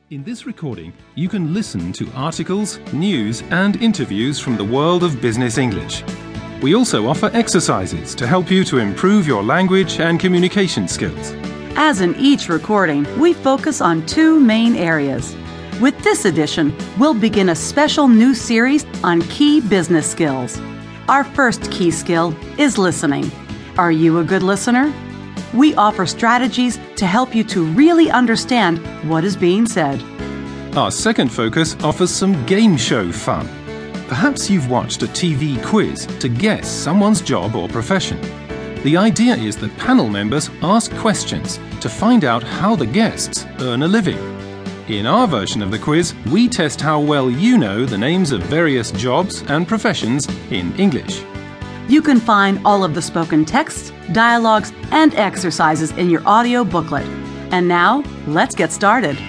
In this recording, you can listen to articles, news, and interviews from the world of business English. We also offer exercises to help you to improve your language and communication skills. As in each recording, we focus on two main areas. With this edition, we'll begin a special new series on key business skills. Our first key skill is listening. Are you a good listener? We offer strategies to help you to really understand what is being said. Our second focus offers some game show fun. Perhaps you've watched a TV quiz to guess someone's job or profession. The idea is that panel members ask questions to find out how the guests earn a living. In our version of the quiz, we test how well you know the names of various jobs and professions in English. You can find all of the spoken texts, dialogues, and exercises in your audio booklet. And now, let's get started.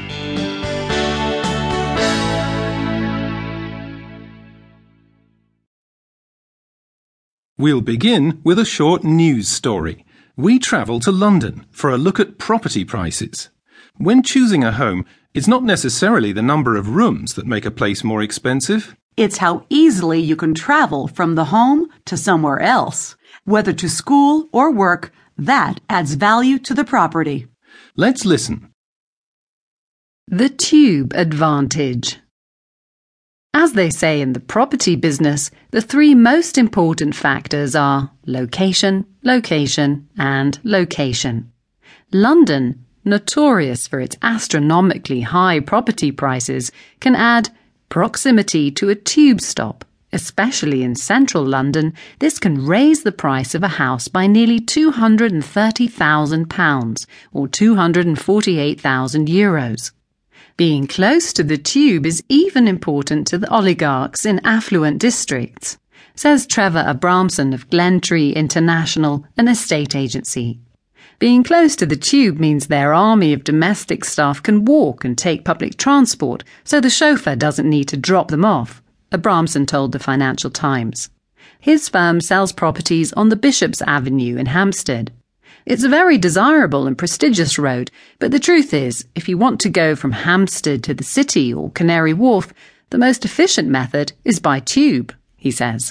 We'll begin with a short news story. We travel to London for a look at property prices. When choosing a home, it's not necessarily the number of rooms that make a place more expensive. It's how easily you can travel from the home to somewhere else. Whether to school or work, that adds value to the property. Let's listen. The tube advantage. As they say in the property business, the three most important factors are location, location, and location. London, notorious for its astronomically high property prices, can add proximity to a tube stop. Especially in central London, this can raise the price of a house by nearly £230,000 or €248,000. Being close to the tube is even important to the oligarchs in affluent districts, says Trevor Abramson of Glentree International, an estate agency. Being close to the tube means their army of domestic staff can walk and take public transport, so the chauffeur doesn't need to drop them off, Abramson told the Financial Times. His firm sells properties on the Bishop's Avenue in Hampstead. It's a very desirable and prestigious road, but the truth is, if you want to go from Hampstead to the city or Canary Wharf, the most efficient method is by tube, he says.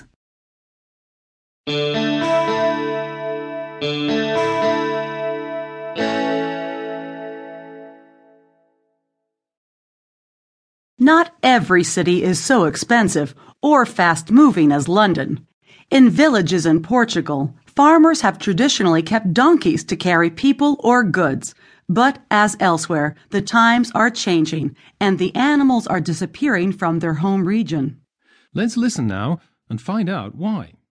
Not every city is so expensive or fast-moving as London. In villages in Portugal, farmers have traditionally kept donkeys to carry people or goods. But as elsewhere, the times are changing and the animals are disappearing from their home region. Let's listen now and find out why.